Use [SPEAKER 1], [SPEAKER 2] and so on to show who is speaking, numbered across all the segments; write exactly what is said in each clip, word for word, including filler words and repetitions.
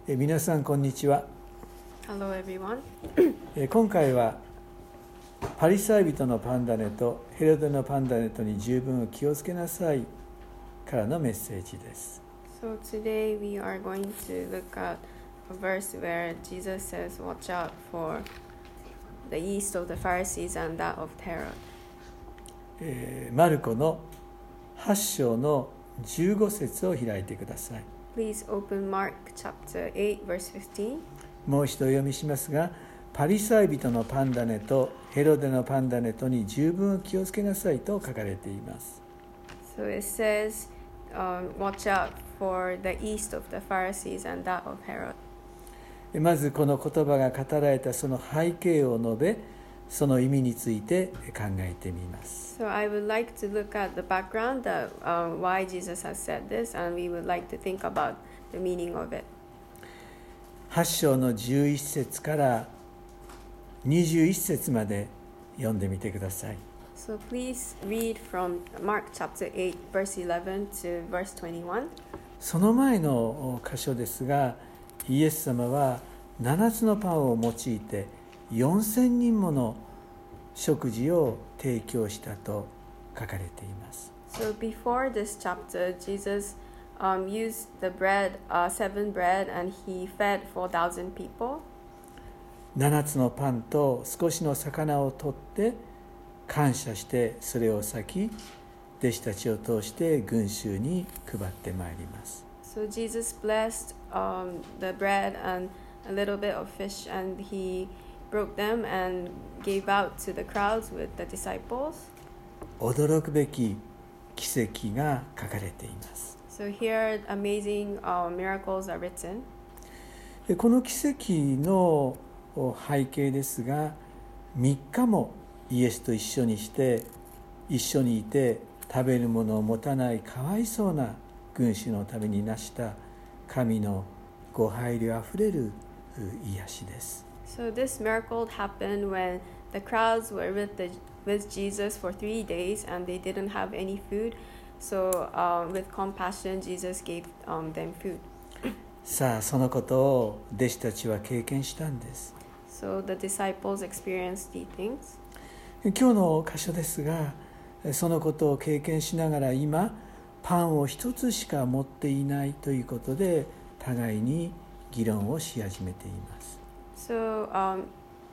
[SPEAKER 1] え皆さんこんにちは。
[SPEAKER 2] Hello everyone.
[SPEAKER 1] え今回はパリサイ人のパンダネとヘロデのパンダネとに十分気をつけなさいからのメッセージです。
[SPEAKER 2] So today we are going to look at a verse where Jesus says, "Watch out for the yeast of the Pharisees and that of Herod."
[SPEAKER 1] えーマルコのはち章のじゅうご節を開いてください。
[SPEAKER 2] Please open Mark chapter eight, verse fifteen.
[SPEAKER 1] もう一度お読みしますが、パリサイ人のパンダネとヘロデのパンダネとに十分気をつけなさいと書かれています。
[SPEAKER 2] So it says, um, "Watch out for the yeast of the Pharisees and that of Herod."
[SPEAKER 1] まずこの言葉が語られたその背景を述べ、その意味について考えてみます。
[SPEAKER 2] So I would like to look at the background that um, why Jesus has said this, and we would like to think about the meaning of it.
[SPEAKER 1] はち章のじゅういち節からにじゅういち節まで読んでみてください。
[SPEAKER 2] So please read from Mark chapter eight, verse eleven to verse twenty-one.
[SPEAKER 1] その前の箇所ですが、イエス様はななつのパンを用いてよんせんにんもの食事を提供したと書かれています。
[SPEAKER 2] So before this chapter, Jesus um, used the bread, uh, seven bread, and he fed four thousand people.
[SPEAKER 1] ななつのパンと少しの魚を取って感謝してそれを裂き、弟子たちを通して群衆に配ってまいります。
[SPEAKER 2] So Jesus blessed um, the bread and a little bit of fish, and he broke them and gave out to the crowds with the disciples.
[SPEAKER 1] 驚くべき奇跡が書かれています。
[SPEAKER 2] So here, amazing uh, miracles are written.
[SPEAKER 1] でこの奇跡の背景ですが、みっかもイエスと一緒にして一緒にいて食べるものを持たないかわいそうな群衆のためになした神のご配慮あふれる癒しです。
[SPEAKER 2] So this miracle happened when the crowds were with the with Jesus for three days and they didn't have any food. So um, with compassion, Jesus gave um, them food.
[SPEAKER 1] さあそのことを弟子たちは経験したんです。
[SPEAKER 2] So the disciples experienced these things.
[SPEAKER 1] 今日の箇所ですが、そのことを経験しながら今パンを一つしか持っていないということで互いに議論をし始めています。
[SPEAKER 2] So um,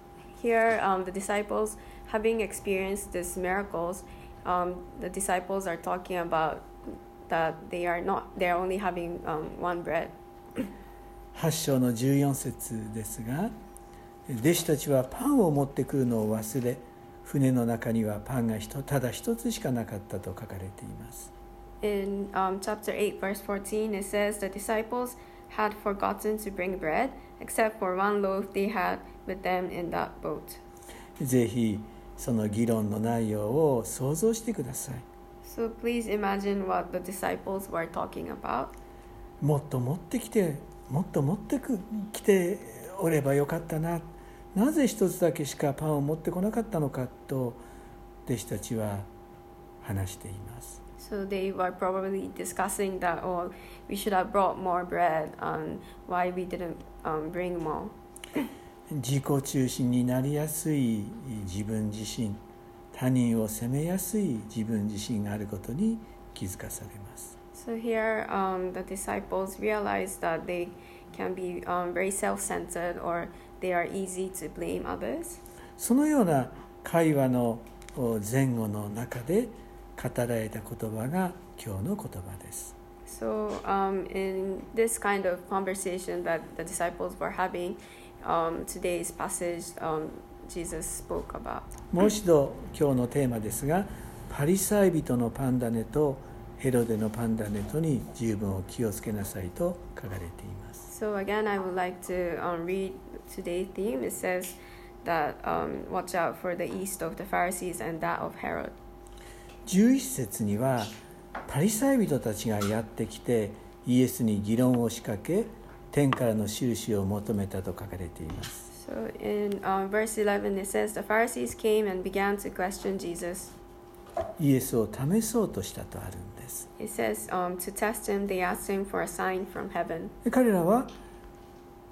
[SPEAKER 2] here, um, the disciples, having experienced these miracles, um, the disciples are talking about that they are not, they are only having um, one bread.
[SPEAKER 1] はち章のじゅうよん節ですが、弟子たちはパンを持ってくるのを忘れ、船の中にはパンがただ一つしかなかったと書かれています。
[SPEAKER 2] In um, chapter eight, verse fourteen, it says the disciples had forgotten to bring bread, except for one loaf they had with them in that boat.
[SPEAKER 1] ぜひその議論の内容を想像してください。
[SPEAKER 2] So please imagine what the disciples were talking about.
[SPEAKER 1] もっと持ってきて、もっと持ってくきておればよかったな。なぜ一つだけしかパンを持ってこなかったのかと弟子たちは話しています。
[SPEAKER 2] So they were probably discussing that, oh, we should have brought more bread and why we didn't um, bring more.
[SPEAKER 1] 自己中心になりやすい自分自身、他人を責めやすい自分自身があることに気づかされます。
[SPEAKER 2] So here, um, the disciples realized that they can be um, very self-centered, or they are easy to blame others.
[SPEAKER 1] そのような会話の前後の中で語られた言葉が今日の言葉です。
[SPEAKER 2] So um, in this kind of conversation that the disciples were having, um, today's passage um, Jesus spoke about.
[SPEAKER 1] もう一度今日のテーマですが、パリサイ人のパンダネとヘロデのパンダネとに十分お気をつけなさいと書かれています。
[SPEAKER 2] So again, I would like to um, read today's theme. It says that um, watch out for the yeast of the Pharisees and that of Herod.
[SPEAKER 1] じゅういち節にはパリサイ人たちがやってきてイエスに議論を仕掛け、天からの印を求めたと書かれています。
[SPEAKER 2] So in um, verse eleven, it says the Pharisees came and began to question Jesus.
[SPEAKER 1] イエスを試そうとしたとあるんです。
[SPEAKER 2] It says um, to test him, they asked him for a sign from heaven.
[SPEAKER 1] で彼らは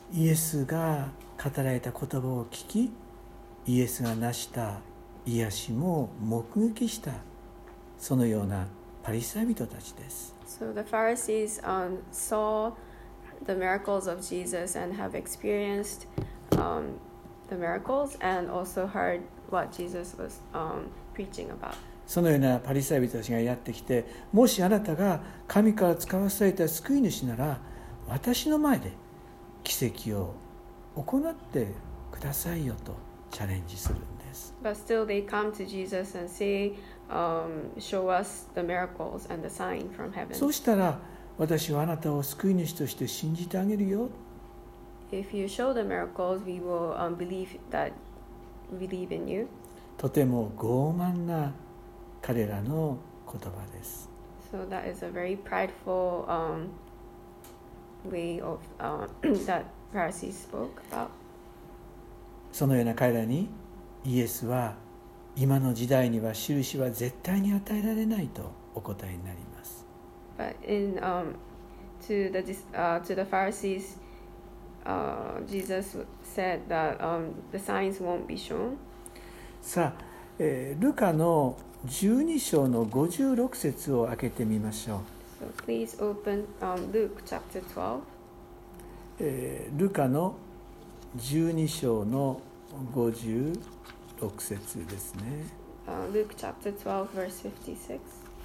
[SPEAKER 1] イエスが語られた言葉を聞き、イエスが成した癒しも目撃した、そのようなパリサイ人たちです。
[SPEAKER 2] So the Pharisees um, saw the miracles of Jesus and have experienced um, the miracles and also heard what Jesus was um, preaching about.
[SPEAKER 1] そのようなパリサイ人たちがやってきて、もしあなたが神から使わされた救い主なら、私の前で奇跡を行ってくださいよとチャレンジするんです。
[SPEAKER 2] But still they come to Jesus and say, um, show us the miracles and the sign from heaven.
[SPEAKER 1] そうしたら、私はあなたを救い主として信じてあげるよ。
[SPEAKER 2] If you show the miracles, we will um, believe that we believe in you.
[SPEAKER 1] とても傲慢な彼らの言葉です。
[SPEAKER 2] So that is a very prideful um, way of uh, that Pharisees spoke about.
[SPEAKER 1] そのような彼らにイエスは、今の時代には印は絶対に与えられないとお答えになります。
[SPEAKER 2] But in um, to the uh, to the Pharisees, uh, Jesus said that um, the signs won't be shown.
[SPEAKER 1] さあ、えー、ルカのじゅうに章のごじゅうろく節を開けてみましょう。
[SPEAKER 2] So please open um, Luke chapter twelve.
[SPEAKER 1] えー、ルカのじゅうに章のごじゅうろく節ですね。
[SPEAKER 2] Uh, Luke chapter twelve, verse fifty-six.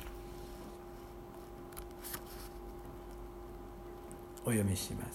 [SPEAKER 1] お読みします。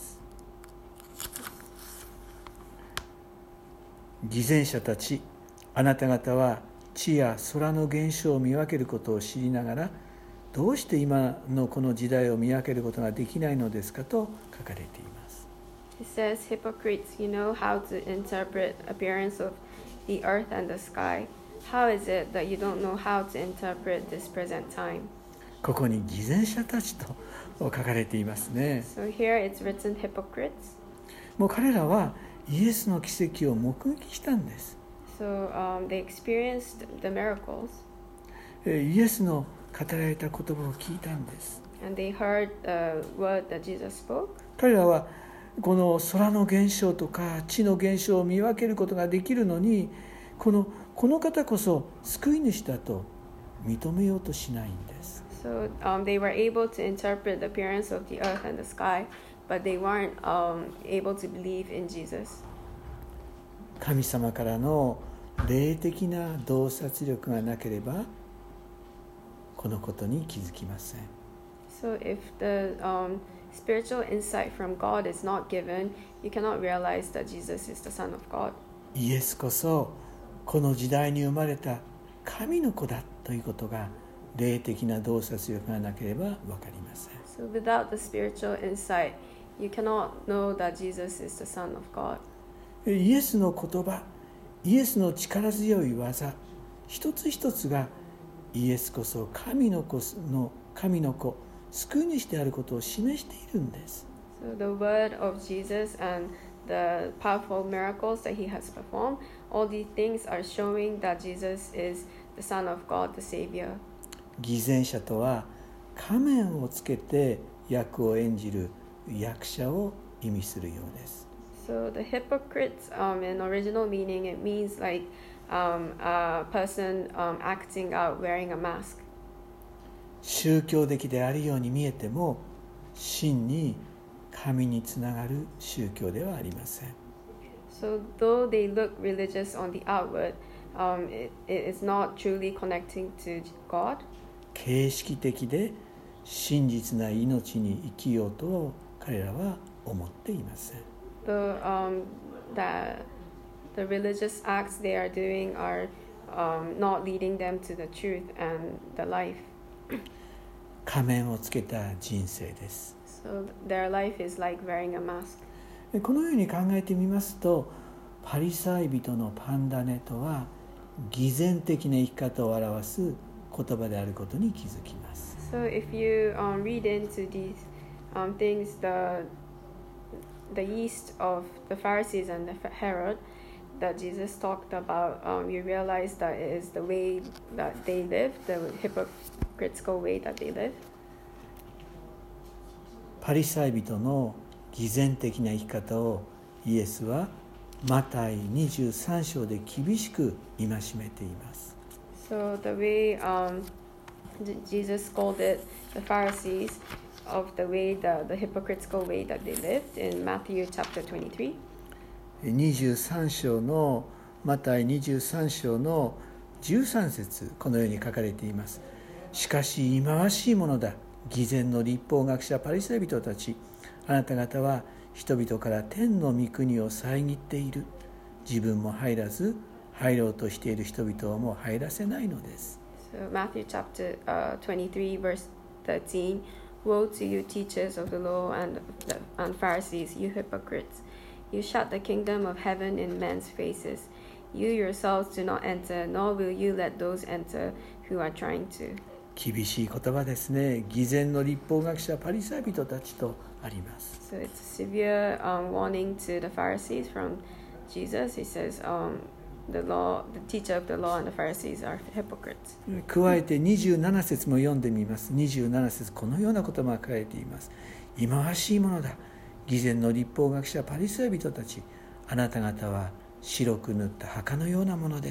[SPEAKER 1] 偽善者たち、あなた方は地や空の現象を見分けることを知りながら、どうして今のこの時代を見分けることができないのですかと書かれています。
[SPEAKER 2] It says, Hypocrites, you know how to interpret appearance of the earth and the sky. How is it that you don't know how to interpret this present time?
[SPEAKER 1] ここに偽善者たちと書かれていますね。
[SPEAKER 2] So here it's written hypocrites.
[SPEAKER 1] もう彼らはイエスの奇跡を目撃したんです。
[SPEAKER 2] So um, they experienced the miracles.
[SPEAKER 1] イエスの語られた言葉を聞いたんです。
[SPEAKER 2] And they heard the word that Jesus spoke.
[SPEAKER 1] 彼らはこの空の現象とか地の現象を見分けることができるのに、この、この方こそ救い主だと認めようとしないんです。
[SPEAKER 2] So um, they were able to interpret the appearance of the earth and the sky, but they weren't um, able to believe in Jesus.
[SPEAKER 1] 神様からの霊的な洞察力がなければこのことに気づきません。
[SPEAKER 2] So if the um, spiritual insight from God is not given, you cannot realize that Jesus is the Son of God.
[SPEAKER 1] イエスこそこの時代に生まれた神の子だということが霊的な洞察力がなければ分かりません。
[SPEAKER 2] So without the spiritual insight, you cannot know that Jesus is the Son of God.
[SPEAKER 1] イエスの言葉、イエスの力強い技、一つ一つがイエスこそ神の子の神の子、救い主であることを示しているんです。
[SPEAKER 2] So the word of Jesus and the powerful miracles that he has performed, all these things are showing that Jesus is the Son of God, the Savior.
[SPEAKER 1] 偽善者とは仮面をつけて役を演じる役者を意味するようです。
[SPEAKER 2] So the hypocrites, um, in original meaning, it means like um, a person um, acting out wearing a mask.
[SPEAKER 1] 宗教的であるように見えても真に神につながる宗教ではありません。
[SPEAKER 2] So though they look religious on the outward, um, it, it is not truly connecting to God.
[SPEAKER 1] 形式的で真実な命に生きようと彼らは思っていません。
[SPEAKER 2] The, um, the, the religious acts they are doing are um, not leading them to the truth and the life.
[SPEAKER 1] 仮面をつけた人生です。
[SPEAKER 2] So their life is like wearing a mask.
[SPEAKER 1] このように考えてみますと、パリサイ人のパンダネとは偽善的な生き方を表す言葉であることに気づきます。
[SPEAKER 2] So if you um, read into these um, things, the the yeast of the Pharisees and the Herod that Jesus talked about, um, you realize that it is the way that they live, the hypocritical way that they live.
[SPEAKER 1] パリサイ人の偽善的な生き方をイエスはマタイにじゅうさん章で厳しく戒めています。
[SPEAKER 2] So the way um, Jesus scolded the Pharisees of the way, the, the hypocritical way that they lived in Matthew chapter twenty-three.
[SPEAKER 1] にじゅうさん章のマタイにじゅうさん章のじゅうさん節、このように書かれています。しかし忌まわしいものだ、偽善の律法学者パリサイ人たち、あなた方は人々から天の御国を遮っている。自分も入らず入ろうとしている人々をも入らせないのです。
[SPEAKER 2] So Matthew chapter uh, twenty-three verse thirteen. Woe to you, teachers of the law and, and Pharisees, you hypocrites! You shut the kingdom of heaven in men's faces. You yourselves do not enter, nor will you let those enter who are trying to.
[SPEAKER 1] 厳しい言葉ですね。偽善の律法学者パリサイ人たちとあります。
[SPEAKER 2] So it's a severe um, warning to the Pharisees from Jesus. He says, um, the law, the teacher of the law and the Pharisees are hypocrites.
[SPEAKER 1] 加えてにじゅうなな節も読んでみます。にじゅうなな節、このようなことも書かれています。忌まわしいものだ、偽善の律法学者パリサイ人たち、あなた方は白く塗った墓のようなものです。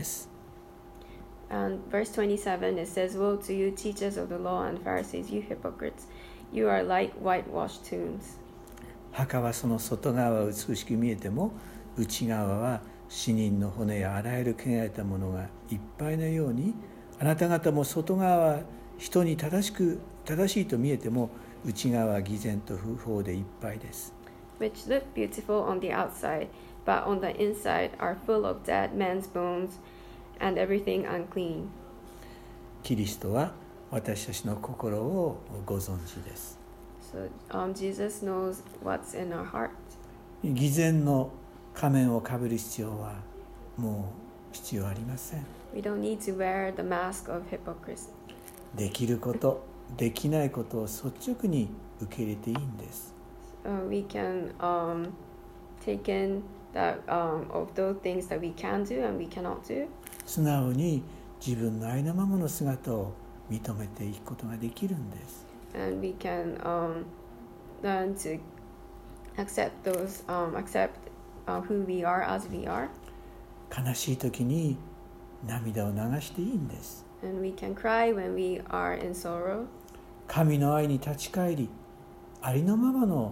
[SPEAKER 2] And verse twenty-seven, it says, Woe to you, teachers of the law and Pharisees, you hypocrites! You are like whitewashed tombs.
[SPEAKER 1] 墓はその外側は美しく見えても、内側は死人の骨やあらゆる汚れたものがいっぱいのように、あなた方も外側は人に正しく正しいと見えても、内側は偽善と不法でいっぱいです。
[SPEAKER 2] Which look beautiful on the outside, but on the inside are full of dead men's bones and everything unclean.
[SPEAKER 1] キリストは私たちの心をご存知です。
[SPEAKER 2] So um, Jesus knows what's in our heart.
[SPEAKER 1] 偽善の仮面をかぶる必要はもう必要ありません。
[SPEAKER 2] We don't need to wear the mask of hypocrisy.
[SPEAKER 1] できること、できないことを率直に受け入れていいんです。
[SPEAKER 2] Uh, we can um, take in that um, of those things that we can do and we cannot do.
[SPEAKER 1] 素直に自分のありのままの姿を認めていくことができるんです。
[SPEAKER 2] And we can um, learn to accept those, um, accept uh, who we are as we are.
[SPEAKER 1] 悲しい時に涙を流していいんです。
[SPEAKER 2] And we can cry when we are in sorrow.
[SPEAKER 1] 神の愛に立ち返り、ありのままの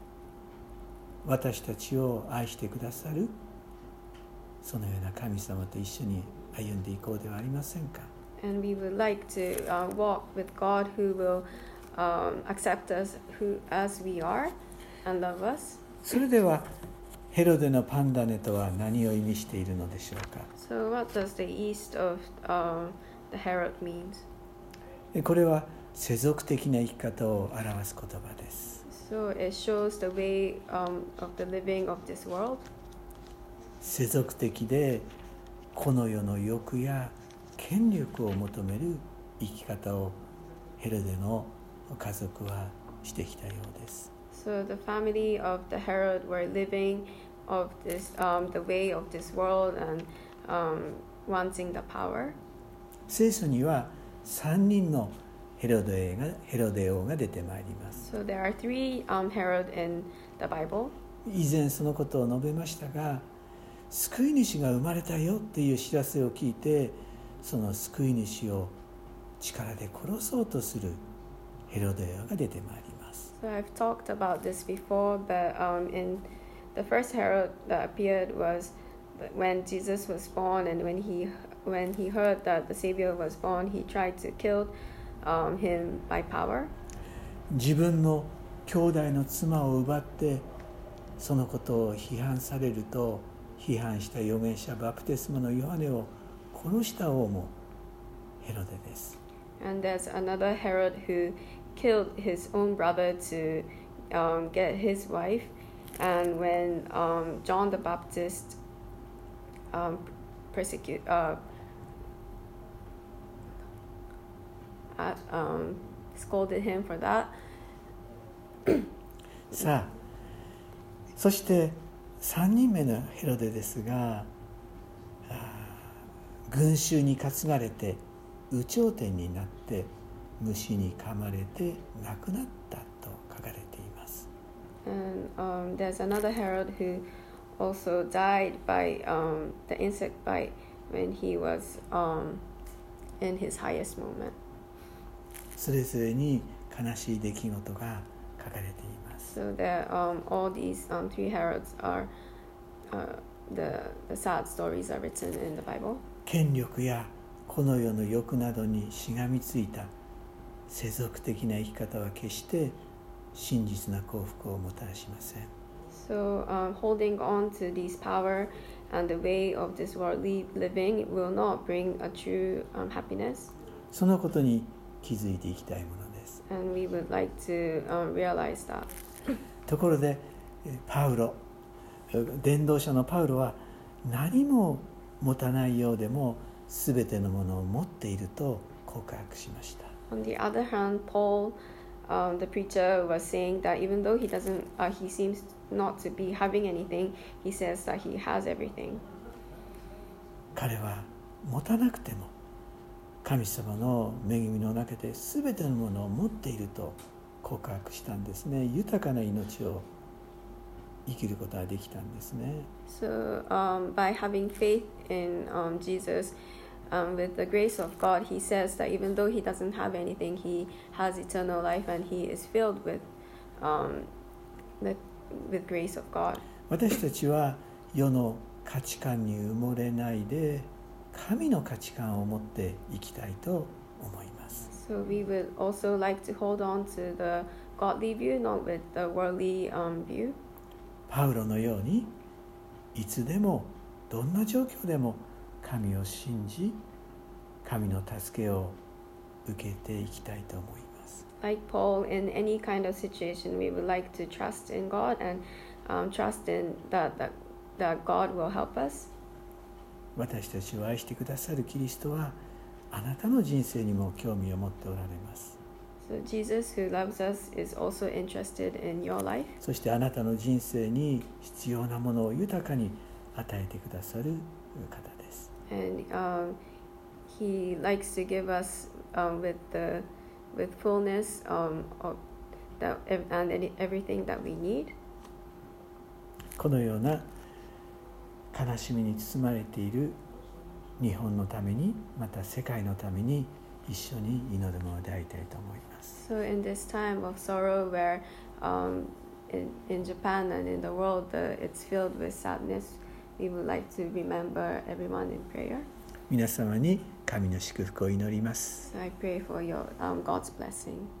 [SPEAKER 1] 私たちを愛してくださるそのような神様と一緒に歩んでいこうではありませんか。
[SPEAKER 2] And we would like to uh, walk with God who will um, accept us who, as we are and love us.
[SPEAKER 1] それではヘロデのパンダネとは何を意味しているのでしょうか。
[SPEAKER 2] So what does the east of um, the Herod means?
[SPEAKER 1] これは世俗的な生き方を表す言葉です。
[SPEAKER 2] So it shows the way um, of the living of this world.
[SPEAKER 1] 世俗的でこの世の欲や権力を求める生き方をヘロデの家族はしてきたようです。
[SPEAKER 2] So the family of the Herod were living of this, um, the way of this world and um, wanting the power.
[SPEAKER 1] 聖書にはさんにんのヘロデがヘロデ王が出てまいります。
[SPEAKER 2] So there are three um, Herod in the Bible.
[SPEAKER 1] 以前そのことを述べましたが、救い主が生まれたよっていう知らせを聞いて、その救い主を力で殺そうとするヘロデ王が出てまいります。
[SPEAKER 2] So I've talked about this before, but um, in the first Herod that appeared was when Jesus was born, and when he when he heard that the Savior was born, he tried to kill um, him by power.
[SPEAKER 1] 自分の兄弟の妻を奪ってそのことを批判されると、批判した預言者バプテスマのヨハネを殺した王もヘロデです。
[SPEAKER 2] And there's another Herod who killed his own brother to um, get his wife. And when um, John the Baptist um, persecute, uh, uh, um, scolded him for that.
[SPEAKER 1] さあ、そしてさんにんめのヘロデですが、群衆に担がれて有頂天になって虫に噛まれて亡くなったと書かれています。
[SPEAKER 2] And um, there's another Herod who also died by um, the insect bite when he was um, in his highest moment.
[SPEAKER 1] それぞれに悲しい出来事が書かれています。
[SPEAKER 2] So that um, all these um, three heralds are uh, the the sad stories are written in the Bible.
[SPEAKER 1] 権力やこの世の欲などにしがみついた世俗的な生き方は決して真実な幸福をもたらしません。
[SPEAKER 2] So um, holding on to these power and the way of this worldly living will not bring a true um, happiness.
[SPEAKER 1] そのことに気づいていきたいものです。
[SPEAKER 2] And we would like to um, realize that.
[SPEAKER 1] ところでパウロ、伝道者のパウロは何も持たないようでも全てのものを持っていると告白しました。
[SPEAKER 2] On the other hand, Paul, um, the preacher, was saying that even though he doesn't, uh, he seems not to be having anything, he says that he has everything.
[SPEAKER 1] 彼は持たなくても神様の恵みの中で全てのものを持っていると告白したんですね。豊かな命を生きることができたんですね。
[SPEAKER 2] So um, by having faith in um, Jesus, um, with the grace of God, he says that even though he doesn't have anything, he has eternal life and he is filled with, um, the, with grace of God.
[SPEAKER 1] 私たちは世の価値観に埋もれないで神の価値観を持って生きたいと思います。
[SPEAKER 2] So we would also like to hold on to the godly view, not with the worldly um, view.
[SPEAKER 1] パウロのようにいつでもどんな状況でも神を信じ神の助けを受けていきたいと思います。
[SPEAKER 2] Like Paul, in any kind of situation, we would like to trust in God and um, trust in that, that, that God will help us.
[SPEAKER 1] 私たちを愛してくださるキリストはあなたの人生にも興味を持っておられます。
[SPEAKER 2] So Jesus, who loves us, is also interested in your life.
[SPEAKER 1] そしてあなたの人生に必要なものを豊かに与えてくださる方です。
[SPEAKER 2] And um, He likes to give us um, with the with fullness um, of that and any, everything that we need.
[SPEAKER 1] このような悲しみに包まれている日本のためにまた世界のために一緒に祈るものでありたいと思います。
[SPEAKER 2] So in this time of sorrow where um, in, in Japan and in the world uh, it's filled with sadness, we would like to remember everyone in prayer.
[SPEAKER 1] 皆様に神の祝福を祈ります。
[SPEAKER 2] So I pray for your um, God's blessing.